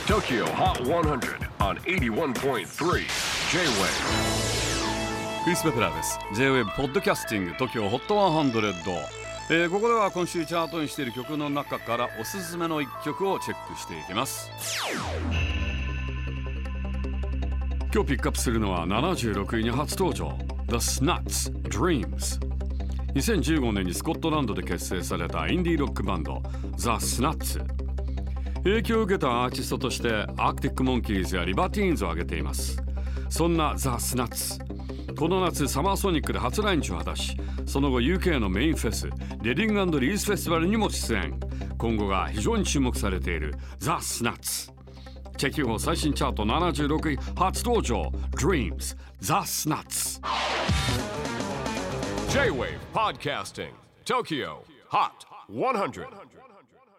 TOKYO HOT 100 on 81.3 J-WAVE クリス・ベプラーです。 J-WAVE ポッドキャスティング TOKYO HOT 100、ここでは今週チャートにしている曲の中からおすすめの一曲をチェックしていきます。今日ピックアップするのは76位に初登場 The Snuts Dreams。 2015年にスコットランドで結成されたインディーロックバンド The Snuts。 影響を受けたアーティストとしてアークティックモンキーズやリバティーンズを挙げています。そんな The Snuts、 この夏サマーソニックで初来日を果たし、その後 UK のメインフェスレディング&リースフェスティバルにも出演。今後が非常に注目されている The Snuts。 チェキホ最新チャート76位初登場 Dreams The Snuts。 J-WAVE PODCASTING TOKYO HOT 100